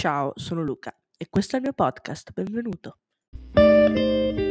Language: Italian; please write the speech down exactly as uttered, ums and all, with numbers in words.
Ciao, sono Luca e questo è il mio podcast, benvenuto.